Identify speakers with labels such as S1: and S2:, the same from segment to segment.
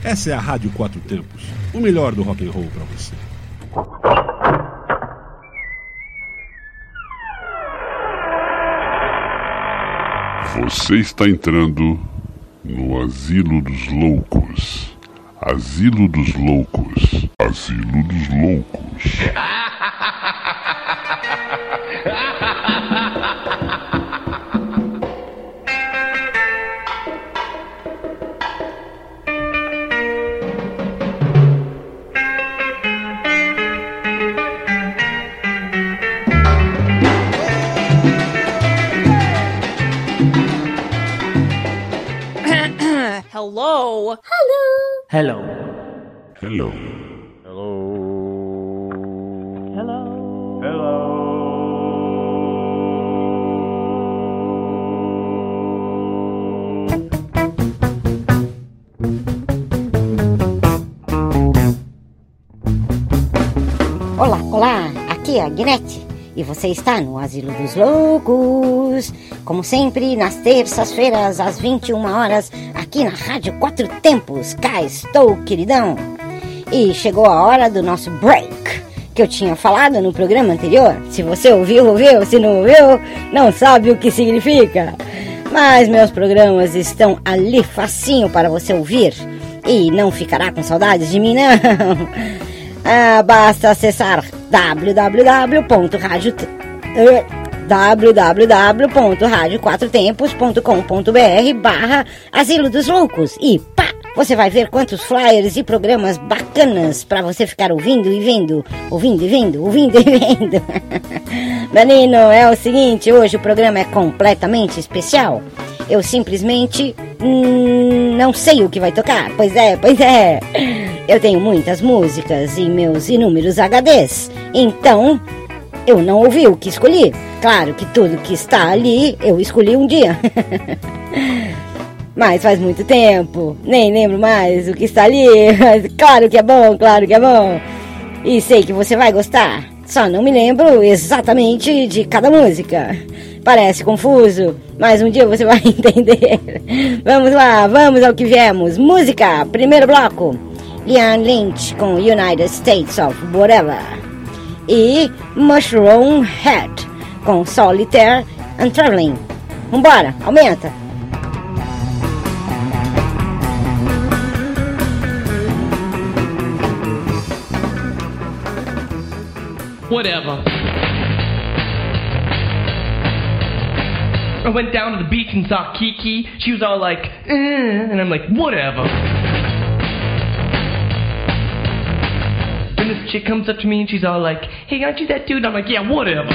S1: Essa é a Rádio Quatro Tempos, o melhor do rock and roll para você.
S2: Você está entrando no Asilo dos Loucos. Asilo dos Loucos. Asilo dos Loucos.
S3: Hello.
S4: Hello.
S2: Hello.
S5: Olá, aqui é a Guinete e você está no Asilo dos Loucos. Como sempre, nas terças-feiras, às 21 horas, aqui na Rádio Quatro Tempos. Cá estou, queridão. E chegou a hora do nosso break, que eu tinha falado no programa anterior. Se você ouviu, ouviu. Se não ouviu, não sabe o que significa. Mas meus programas estão ali facinho para você ouvir. E não ficará com saudades de mim, não. Basta acessar www.radioquatrotempos.com.br/Asilo dos Loucos e pá! Você vai ver quantos flyers e programas bacanas para você ficar ouvindo e vendo. Menino, é o seguinte, hoje o programa é completamente especial. Eu simplesmente não sei o que vai tocar. Pois é. Eu tenho muitas músicas e meus inúmeros HDs. Então, eu não ouvi o que escolhi. Claro que tudo que está ali, eu escolhi um dia. Mas faz muito tempo. Nem lembro mais o que está ali. Claro que é bom. E sei que você vai gostar. Só não me lembro exatamente de cada música. Parece confuso, mas um dia você vai entender. Vamos lá, vamos ao que viemos. Música, primeiro bloco. Ian Lynch com United States of Whatever. E Mushroom Head com Solitaire and Traveling. Vambora, aumenta.
S6: Whatever. I went down to the beach and saw Kiki. She was all like, and I'm like, whatever. And this chick comes up to me and she's all like, hey, aren't you that dude? I'm like, yeah, whatever.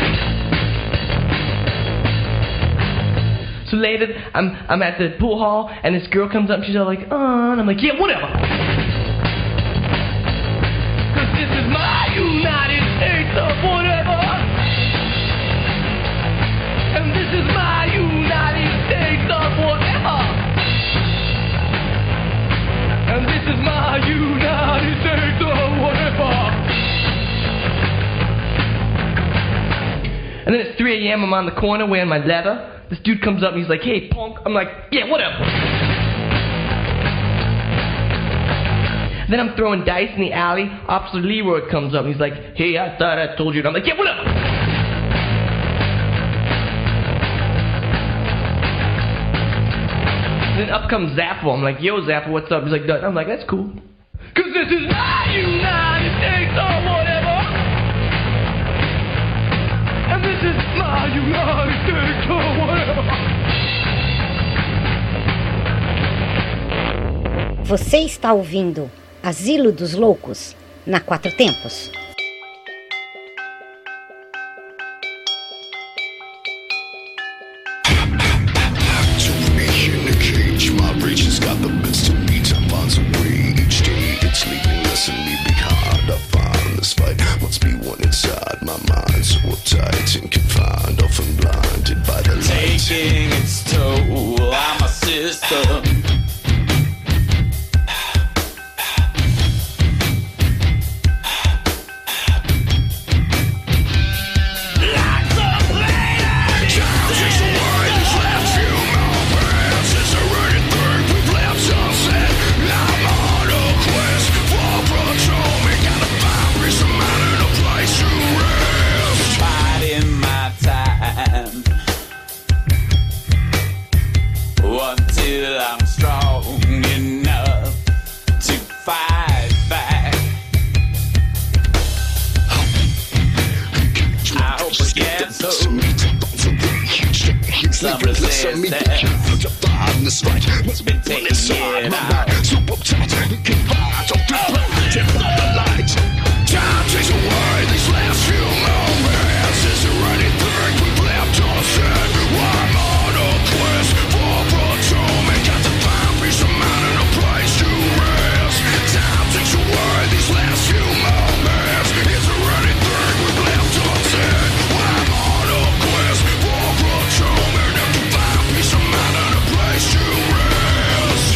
S6: So later, I'm at the pool hall and this girl comes up and she's all like, and I'm like, yeah, whatever. Cause this is my United States of whatever. And this is my United States of whatever. And this is my United States of whatever. And then it's 3 a.m. I'm on the corner wearing my leather. This dude comes up and he's like, hey, punk. I'm like, yeah, whatever. Then I'm throwing dice in the alley. Officer Leroy comes up and he's like, hey, I thought I told you. And I'm like, yeah, whatever. Then up comes Zappo. I'm like, yo, Zappo, what's up? He's like, I'm like, that's cool. Cause this is my United States or whatever. And this is my United States or whatever.
S5: Você está ouvindo Asilo dos Loucos na Quatro Tempos.
S7: Taking its toll on my system.
S8: Left human, it's a running thing. We've left sunset, now I'm on.
S7: till I'm strong enough to fight back. I hope I get some resistance. It's been taking it out. Time takes away these last few moments. Is there anything we've left unsaid? I'm on a quest for atonement. Got to find peace of mind and a place to rest. Time takes away these last few moments. Is there anything we've left unsaid? I'm on a quest for atonement. Got to find peace of mind and a place to rest.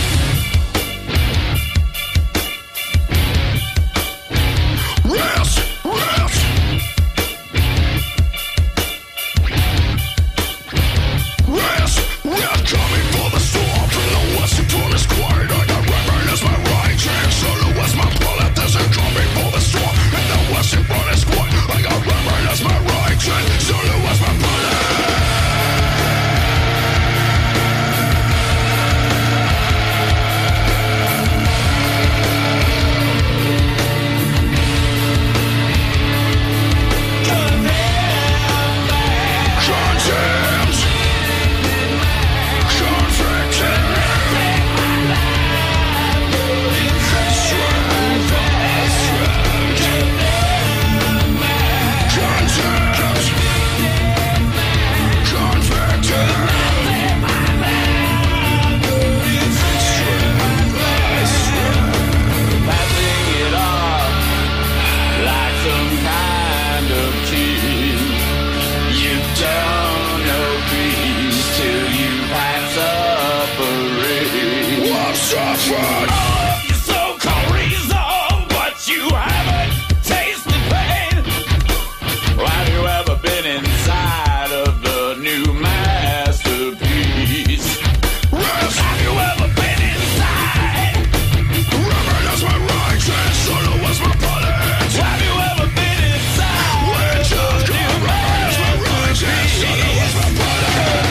S7: Rest, rest. Rest, we're coming for the storm from the west and from this quiet. I got reverend as my right hand, solo as my bullet. There's a coming for the storm in the west and from this quiet. I got reverend as my right hand, solo as my bullet. Condemned, convicted, strength, passing it off like some kind of king. You don't know peace till you've had suffering. I'm suffering. All of your so-called reason, but you haven't tasted pain. Have you ever been inside of the new masterpiece? Have you ever been inside? Reverend as my right hand, solo as my bullet. Have you ever been inside? Witch of God, Reverend as my right hand, solo as my bullet.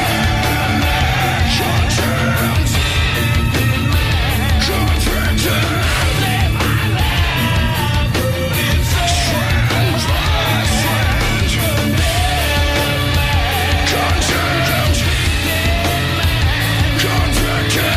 S7: Condemned, convicted, strange by strange. Condemned, convicted.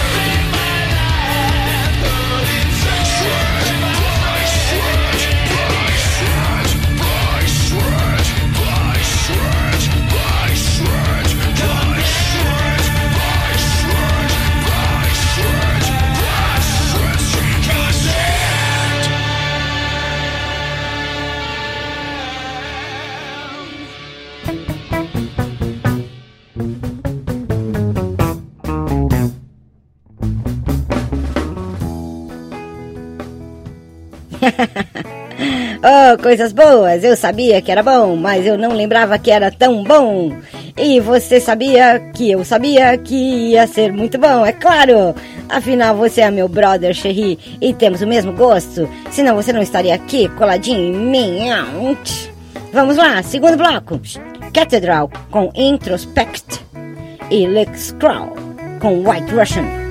S5: Oh, coisas boas! Eu sabia que era bom, mas eu não lembrava que era tão bom. E você sabia que eu sabia que ia ser muito bom, é claro! Afinal, você é meu brother, Cherry, e temos o mesmo gosto. Senão você não estaria aqui coladinho em mim. Vamos lá, segundo bloco. Cathedral com Introspect e Lick Scroll com White Russian.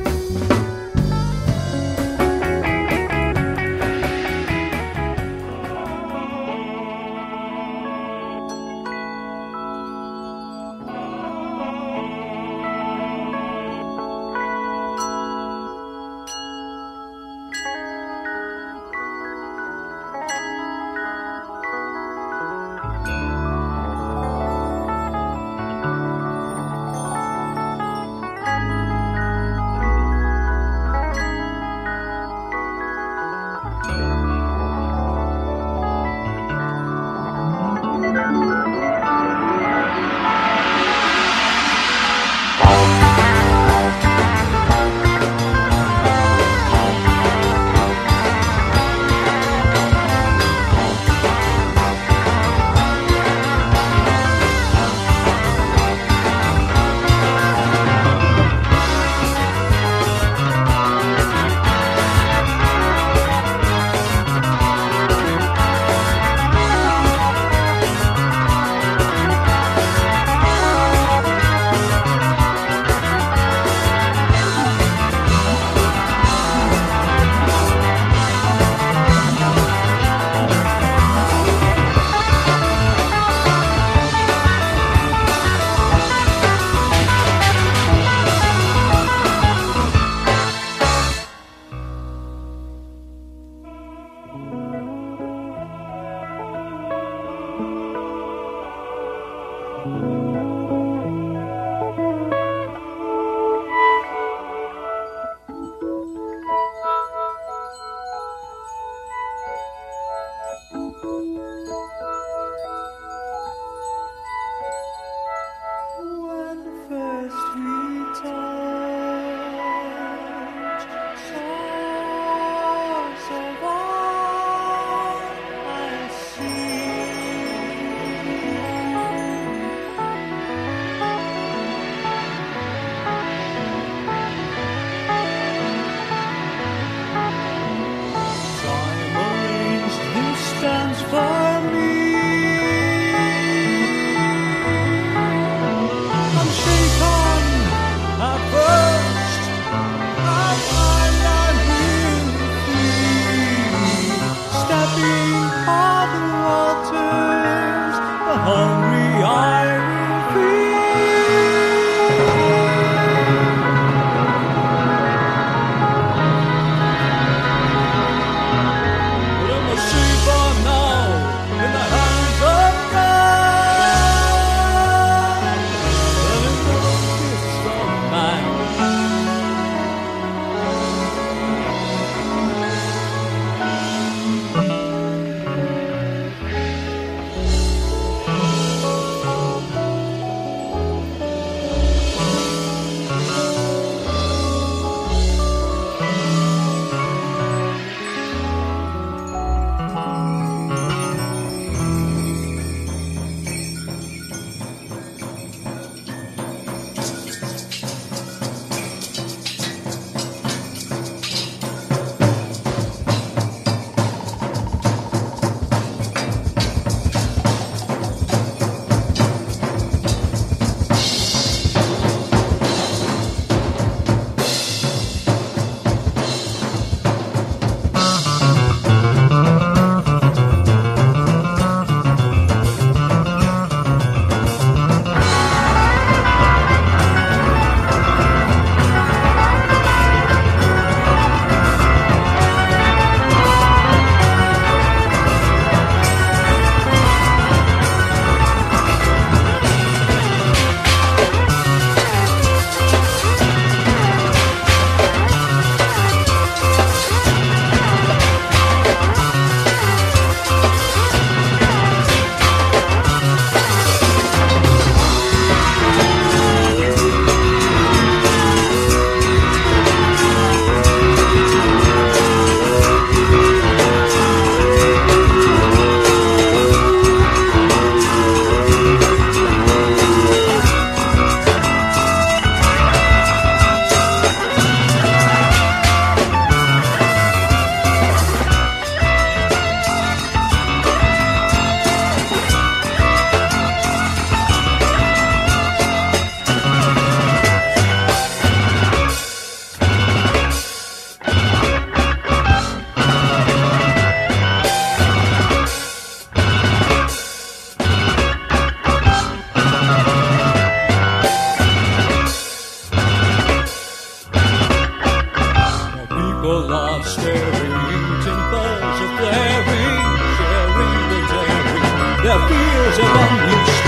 S3: people are staring, timbers are flaring, sharing the daring, their fears are unleashed.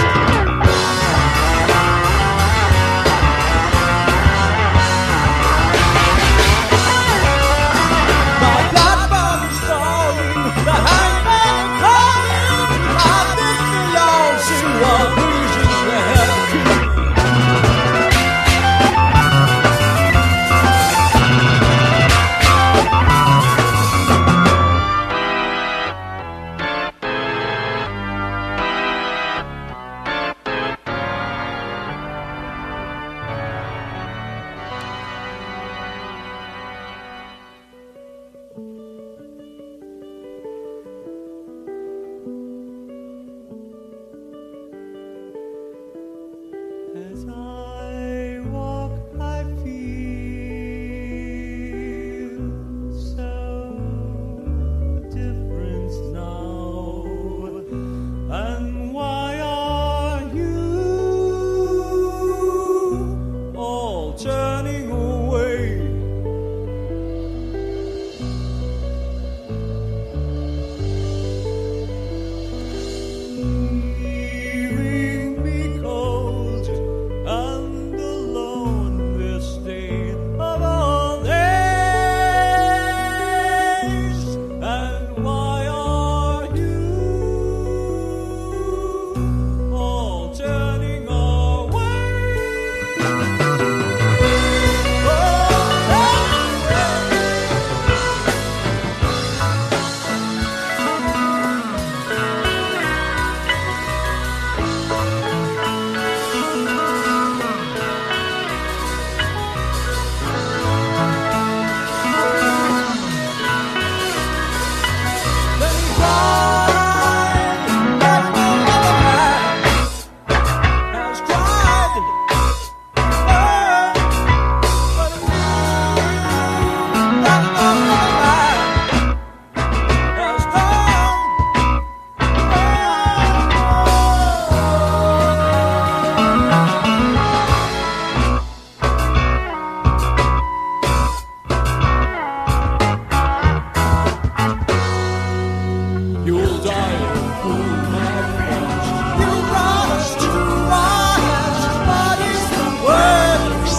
S3: As I walk, I feel so different now. And why are you all turning away? Leaving me cold and alone this day of all days. And why are you all turning away? Then he cried like no other man has cried. But he like no other man has cried. You'll die in cool, my friends. You brought us to our hands, but it's the worst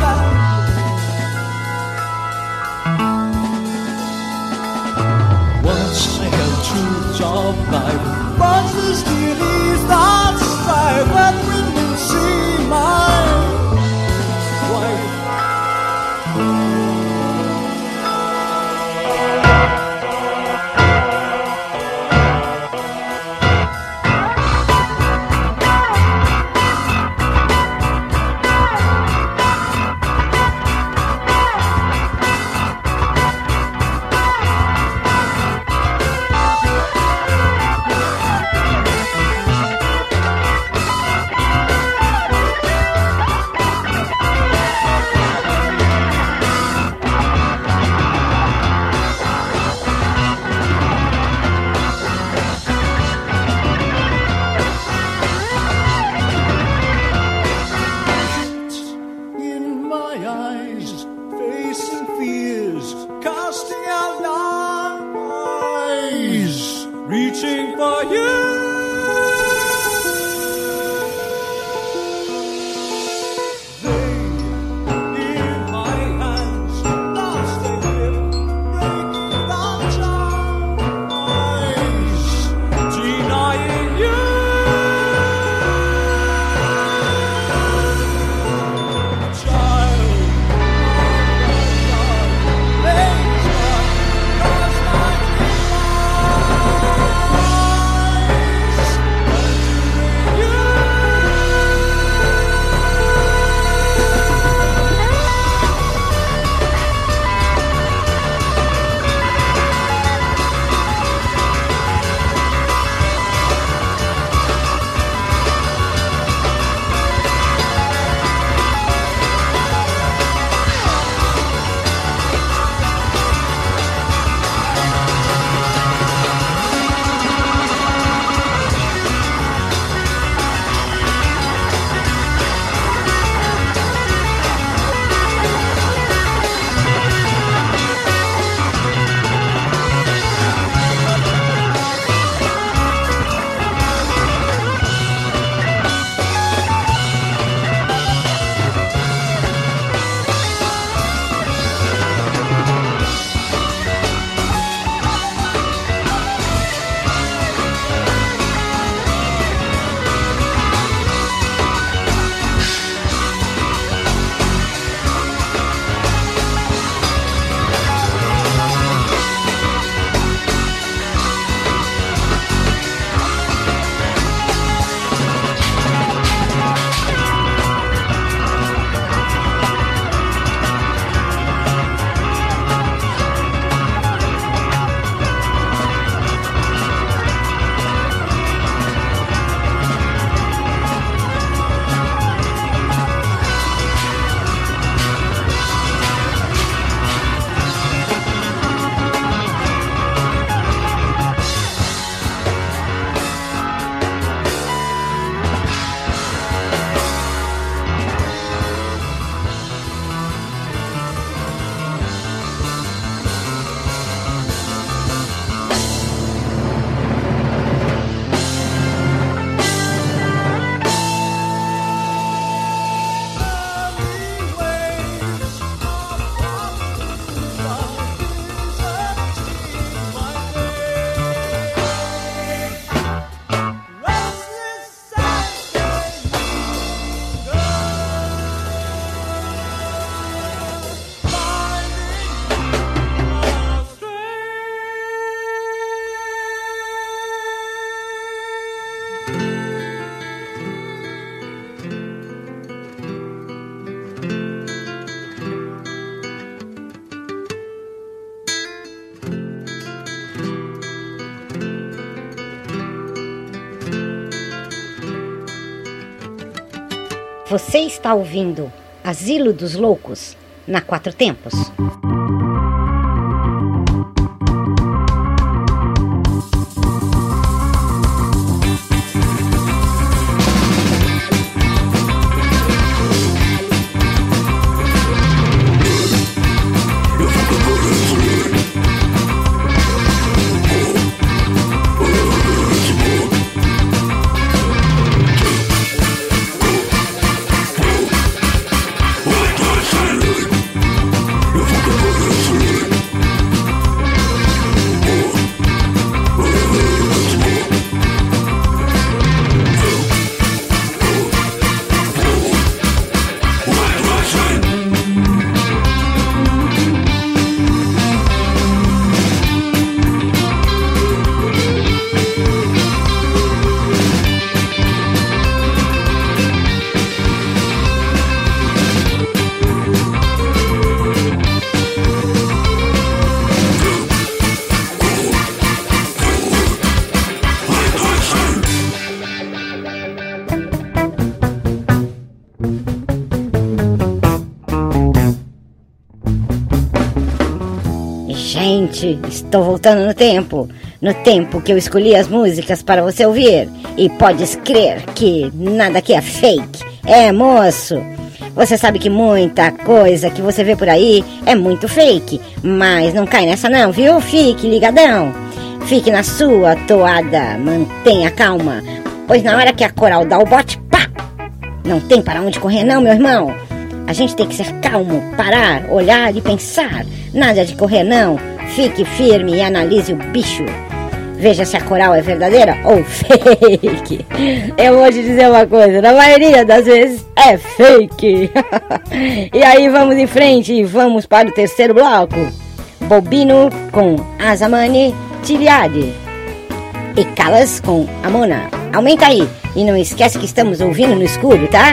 S3: once I held truths of life, once the steel is not strife, and when you see my wife. In my eyes, facing fears, casting out lies, reaching for you. They, in my hands, lost their grip, breaking down ties, denying you. Child, laser, cause my life.
S5: Você está ouvindo Asilo dos Loucos na Quatro Tempos. Gente, estou voltando no tempo que eu escolhi as músicas para você ouvir. E podes crer que nada aqui é fake. É, moço, você sabe que muita coisa que você vê por aí é muito fake. Mas não cai nessa não, viu? Fique ligadão. Fique na sua toada, mantenha calma. Pois na hora que a coral dá o bote, pá! Não tem para onde correr não, meu irmão. A gente tem que ser calmo, parar, olhar e pensar. Nada de correr não. Fique firme e analise o bicho. Veja se a coral é verdadeira ou fake. Eu vou te dizer uma coisa, na maioria das vezes é fake. E aí vamos em frente e vamos para o terceiro bloco. Bobino com Azamani Tiliade e Calas com Amona. Aumenta aí e não esquece que estamos ouvindo no escuro, tá?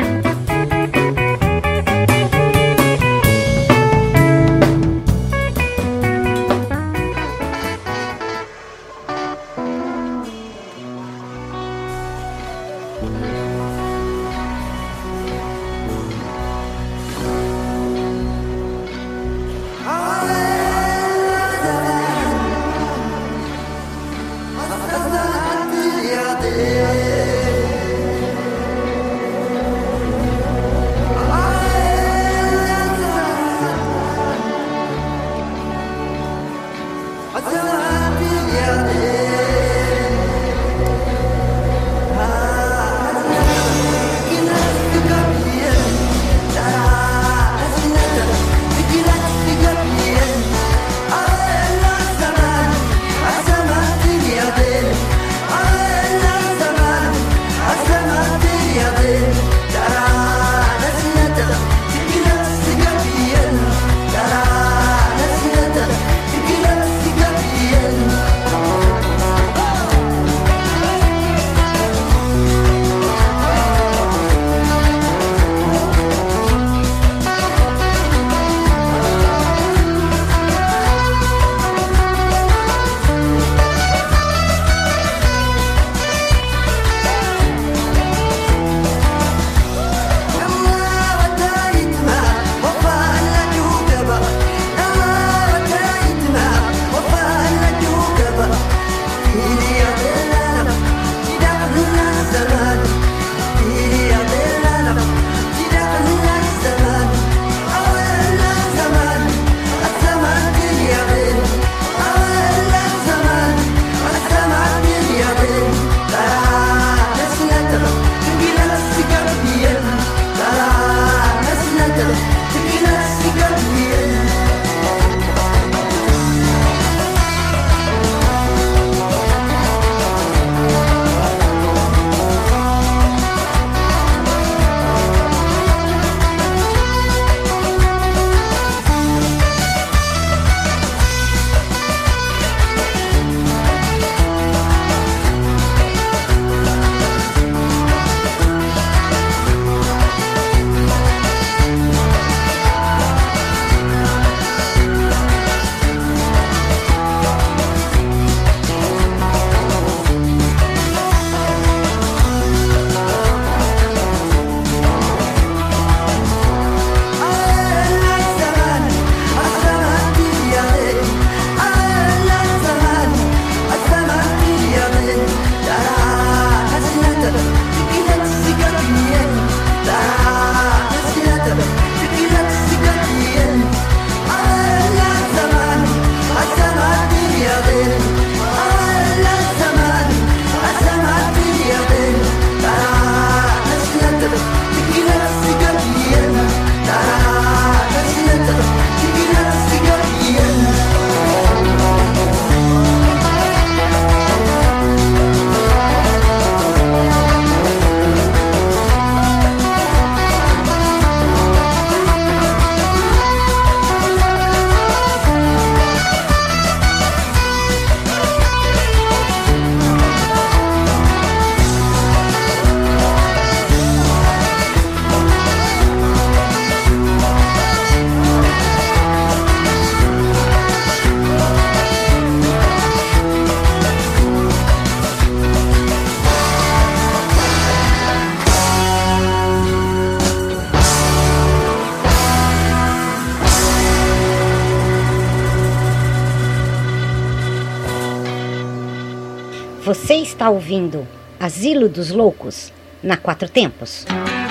S5: Você está ouvindo Asilo dos Loucos na Quatro Tempos.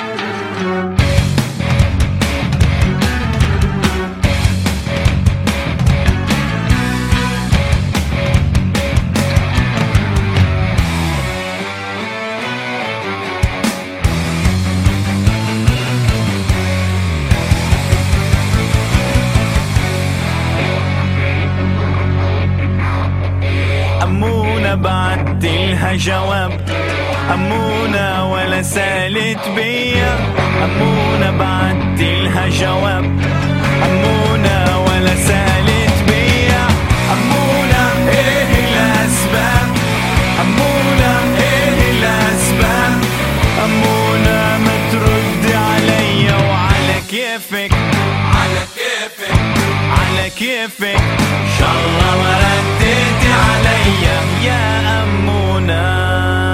S4: بعتلها جواب أمونة ولا سالت بيا أمونة بعتلها جواب أمونة ولا سالت بيا أمونة إيه الأسباب أمونة إيه الأسباب أمونة ما ترد عليا وعلى كيفك على كيفك على كيفك إن شاء الله ما رديتي عليا يا أمونة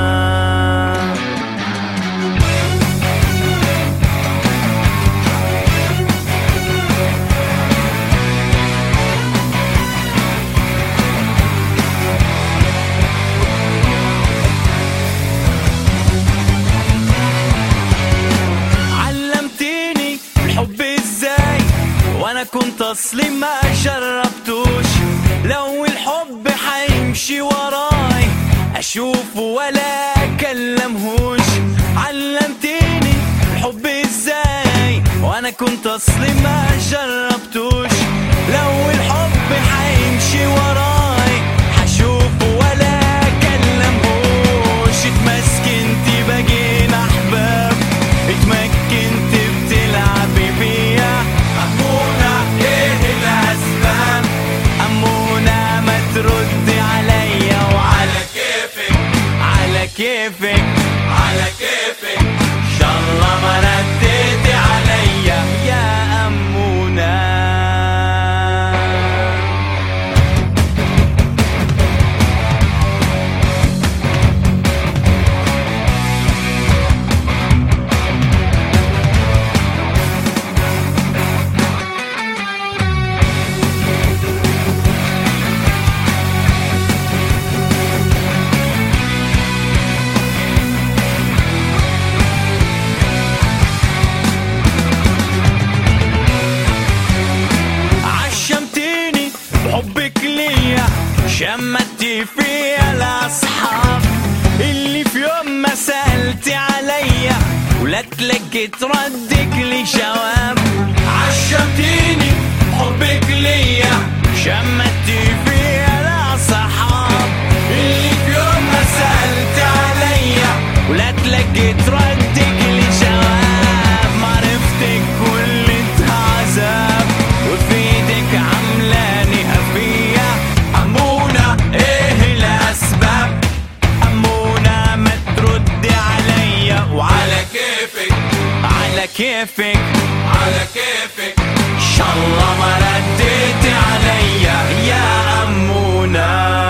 S4: علمتيني الحب ازاي وانا كنت اصلي ما جربتوش لو الحب حيمشي وراي اشوفه ولا اكلمهوش علمتيني الحب ازاي وانا كنت اصلي ما جربتوش لو الحب حيمشي وراي حشوفه ولا اكلمهوش اتمسكنتي بقينا احباب اتمكنتي بتلعبي بيا أمونة ايه الاسباب أمونة ما تردي عليا وعلى كيفك على كيفك على كيفك إن شاء الله ما رديتي عليا يا أمونة شمتي فيا الأصحاب اللي في يوم ما سألتي عليا ولا تلقيت ردك لي جواب عشمتيني حبك ليا شمتي فيا الأصحاب اللي في يوم ما سألتي عليا ولا تلقيت ردك لي جواب معرفتك كلها عذاب وفي ايدك عملاني هفية أمونة ايه الأسباب أمونة ما تردي عليا وعلى كيفك على كيفك على كيفك إن شاء الله ما رديتي عليا يا أمونة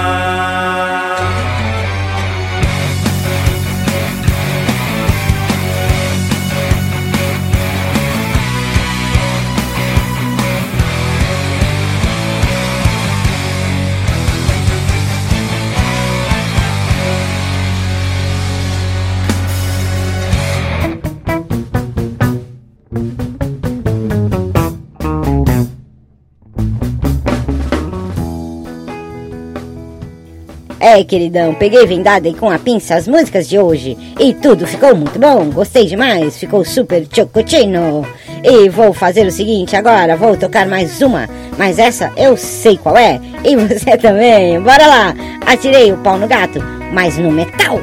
S5: É, queridão, peguei vendada e com a pinça as músicas de hoje e tudo ficou muito bom, gostei demais, ficou super chocotino. E vou fazer o seguinte agora, vou tocar mais uma, mas essa eu sei qual é, e você também, bora lá. Atirei o pau no gato, mas no metal.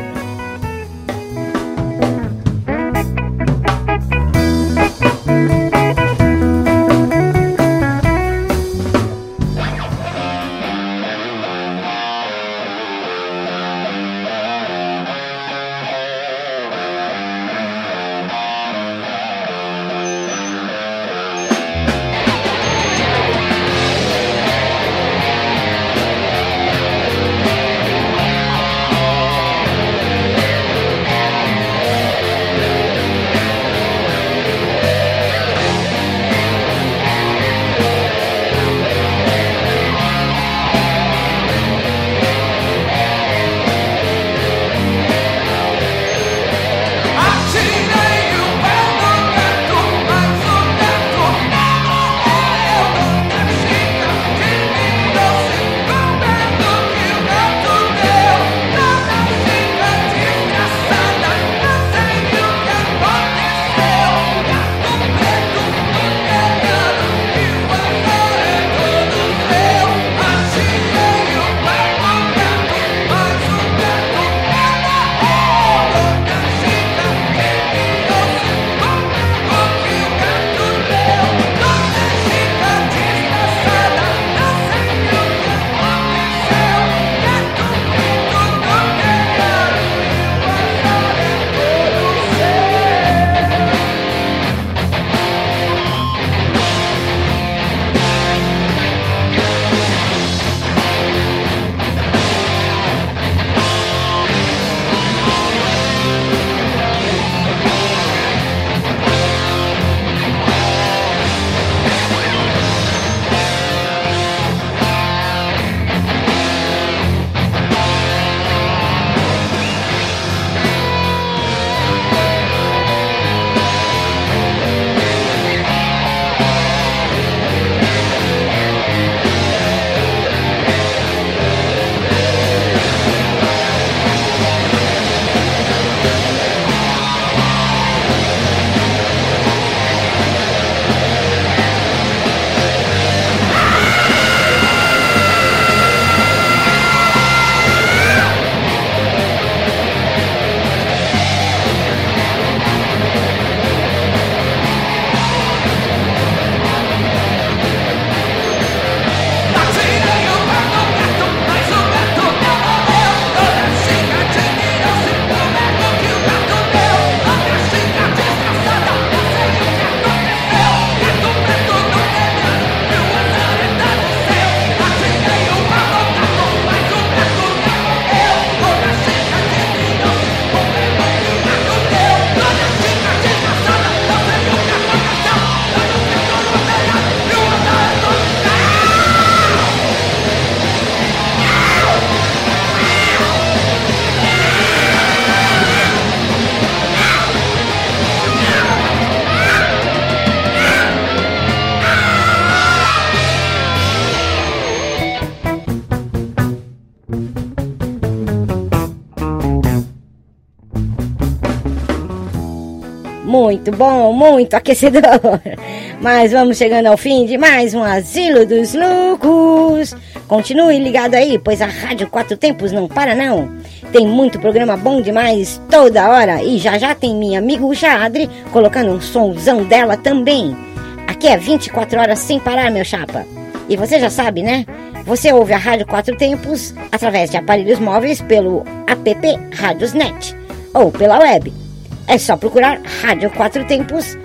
S5: muito bom, muito aquecedor. Mas vamos chegando ao fim de mais um Asilo dos Loucos. Continue ligado aí, pois a Rádio Quatro Tempos não para não. Tem muito programa bom demais toda hora. E já tem minha amigo Jadre colocando um somzão dela também. Aqui é 24 horas sem parar, meu chapa. E você já sabe, né? Você ouve a Rádio Quatro Tempos através de aparelhos móveis pelo app Radiosnet ou pela web. É só procurar Rádio Quatro Tempos,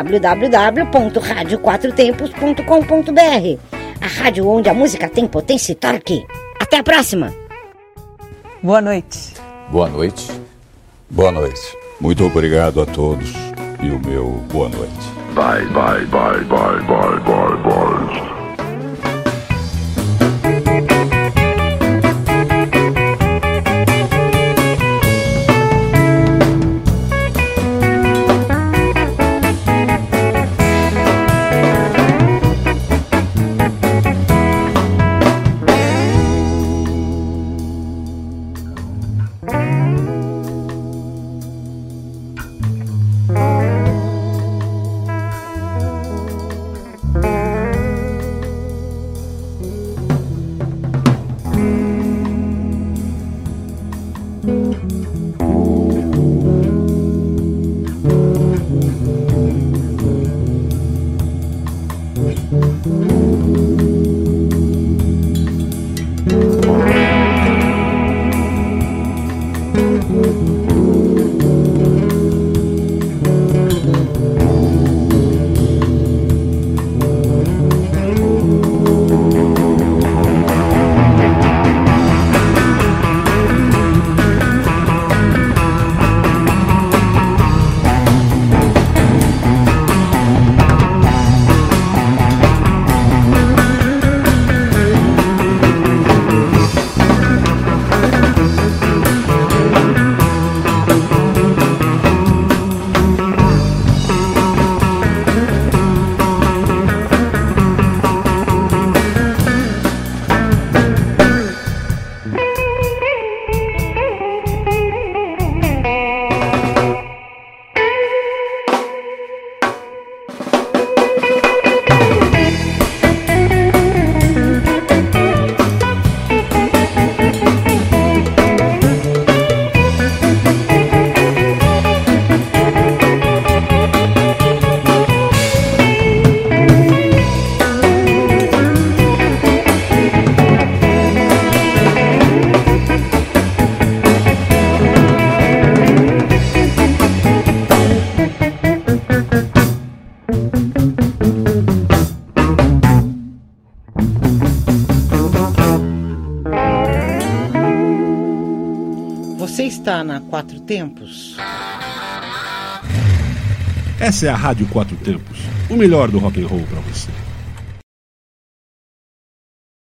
S5: www.radioquatrotempos.com.br. A rádio onde a música tem potência e torque. Até a próxima!
S8: Boa noite.
S9: Boa noite.
S10: Boa noite. Muito obrigado a todos e o meu boa noite.
S2: Bye, bye, bye, bye, bye, bye, bye.
S8: Está na Quatro Tempos.
S1: Essa é a Rádio Quatro Tempos, o melhor do rock and roll para você.